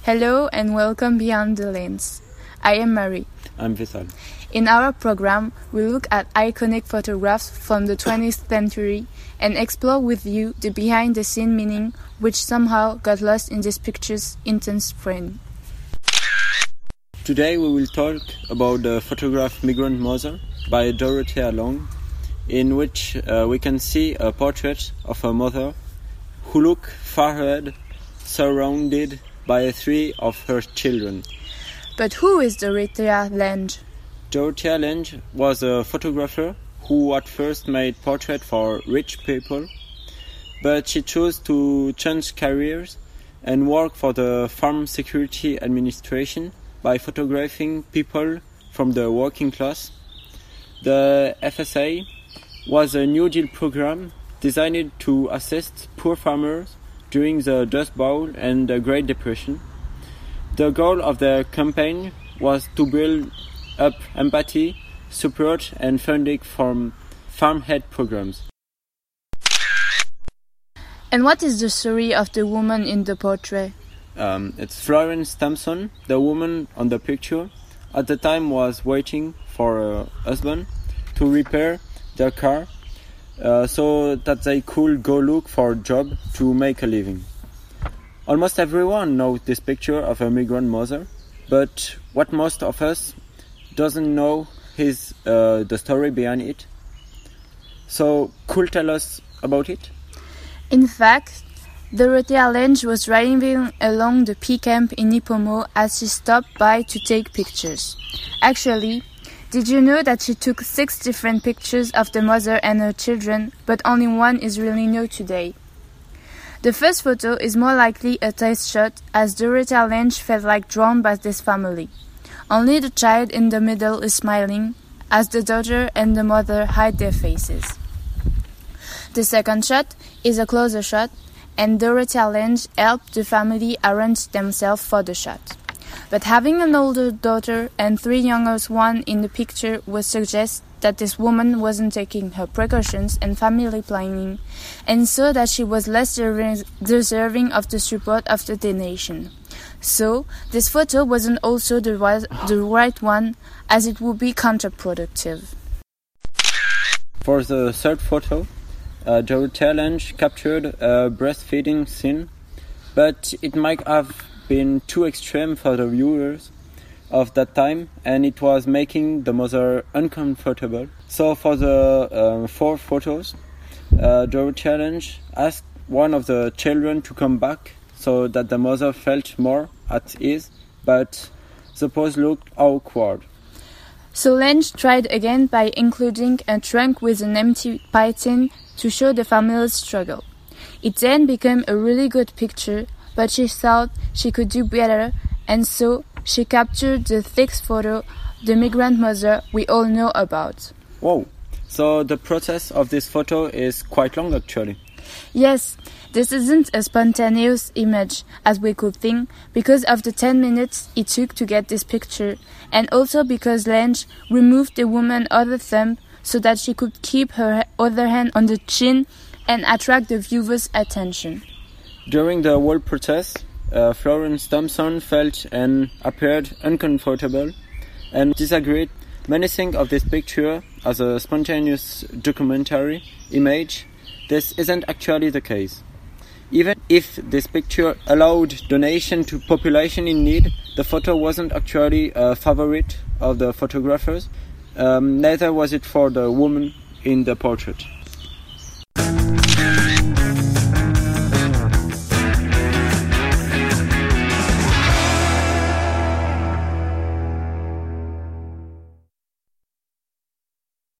Hello and welcome Beyond the Lens. I am Marie. I'm Vishal. In our program, we look at iconic photographs from the 20th century and explore with you the behind-the-scene meaning which somehow got lost in this picture's intense frame. Today we will talk about the photograph Migrant Mother by Dorothea Lange, in which we can see a portrait of a mother who looks far ahead, surrounded by three of her children. But who is Dorothea Lange? Dorothea Lange was a photographer who at first made portraits for rich people, but she chose to change careers and work for the Farm Security Administration by photographing people from the working class. The FSA was a New Deal program designed to assist poor farmers during the Dust Bowl and the Great Depression. The goal of the campaign was to build up empathy, support and funding from farmhead programs. And what is the story of the woman in the portrait? It's Florence Thompson, the woman on the picture. At the time was waiting for her husband to repair their car so that they could go look for a job to make a living. Almost everyone knows this picture of a migrant mother, but what most of us doesn't know is the story behind it. So, could tell us about it? In fact, Dorothea Lange was driving along the P camp in Nipomo as she stopped by to take pictures. Actually, did you know that she took 6 different pictures of the mother and her children, but only one is really known today? The first photo is more likely a test shot, as Dorothea Lange felt like drawn by this family. Only the child in the middle is smiling, as the daughter and the mother hide their faces. The second shot is a closer shot, and Dorothea Lange helped the family arrange themselves for the shot. But having an older daughter and 3 younger ones in the picture would suggest that this woman wasn't taking her precautions and family planning, and so that she was less deserving of the support of the donation. So, this photo wasn't also the right one, as it would be counterproductive. For the third photo, Dorothea Lange captured a breastfeeding scene, but it might have been too extreme for the viewers of that time, and it was making the mother uncomfortable. So for the 4 photos, Dorothea Lange asked one of the children to come back so that the mother felt more at ease, but the pose looked awkward. So Lange tried again by including a trunk with an empty python to show the family's struggle. It then became a really good picture, but she thought she could do better, and so she captured the 6th photo, the migrant mother we all know about. Wow, so the process of this photo is quite long actually. Yes, this isn't a spontaneous image, as we could think, because of the 10 minutes it took to get this picture, and also because Lange removed the woman's other thumb so that she could keep her other hand on the chin and attract the viewer's attention. During the whole process, Florence Thompson felt and appeared uncomfortable and disagreed. Many think of this picture as a spontaneous documentary image. This isn't actually the case. Even if this picture allowed donation to population in need, the photo wasn't actually a favorite of the photographers. Neither was it for the woman in the portrait.